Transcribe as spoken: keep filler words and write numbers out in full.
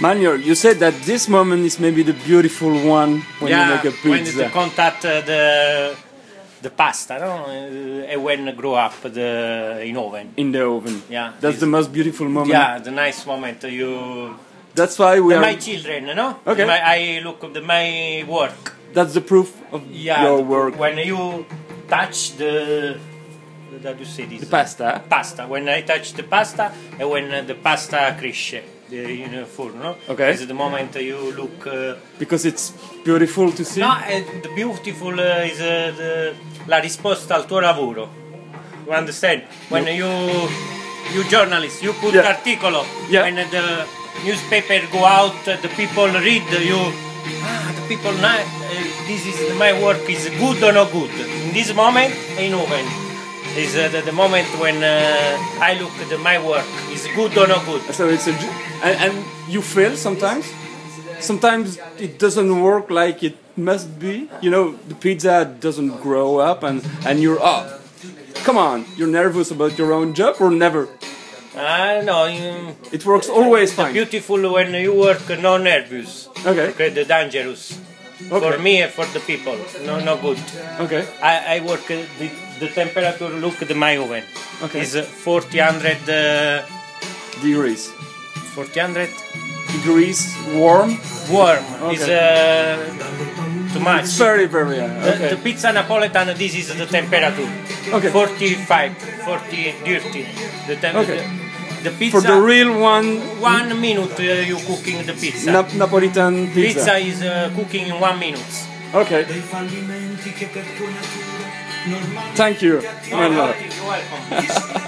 Manuel, you said that this moment is maybe the beautiful one when yeah, you make a pizza. when you contact uh, the the pasta, no? Uh, and when grow up the in oven. In the oven. Yeah, that's the most beautiful moment. Yeah, the nice moment. You. That's why we the, are. My children, no? Okay. My, I look at the, my work. That's the proof of yeah, your the, work. When you touch the. How do you say this? The pasta. Pasta. When I touch the pasta, and when uh, the pasta cresce, the, you know, full, no? Okay. It's the moment you look. Uh, because it's beautiful to see. No, uh, the beautiful uh, is uh, the, la risposta al tuo lavoro. You understand? When you you journalist, you put yeah. articolo. Yeah. When the newspaper go out, uh, the people read. You ah, the people know uh, this is my work is good or not good. In this moment, in oven. Is uh, the, the moment when uh, I look at my work is good or not good. So it's a and, and you fail sometimes. Sometimes it doesn't work like it must be. You know, the pizza doesn't grow up, and and you're oh, come on, you're nervous about your own job or never. I uh, know. You, it works always it's fine. Beautiful when you work no nervous. Okay. Okay, the dangerous. Okay. For me and for the people, no, no good. Okay. I, I work uh, the, the temperature. Look at my oven. Okay. Is uh, forty hundred uh, degrees. Forty hundred degrees warm. Warm. Okay. Is uh, too much. It's very very. Uh, okay. the, the pizza Napoletan. This is the temperature. Okay. forty-five, forty dirty. The temperature. Okay. The pizza, for the real one. One minute uh, you cooking the pizza. Na Napolitan pizza. Pizza is uh, cooking in one minute. Okay. Thank you. Oh, you're welcome.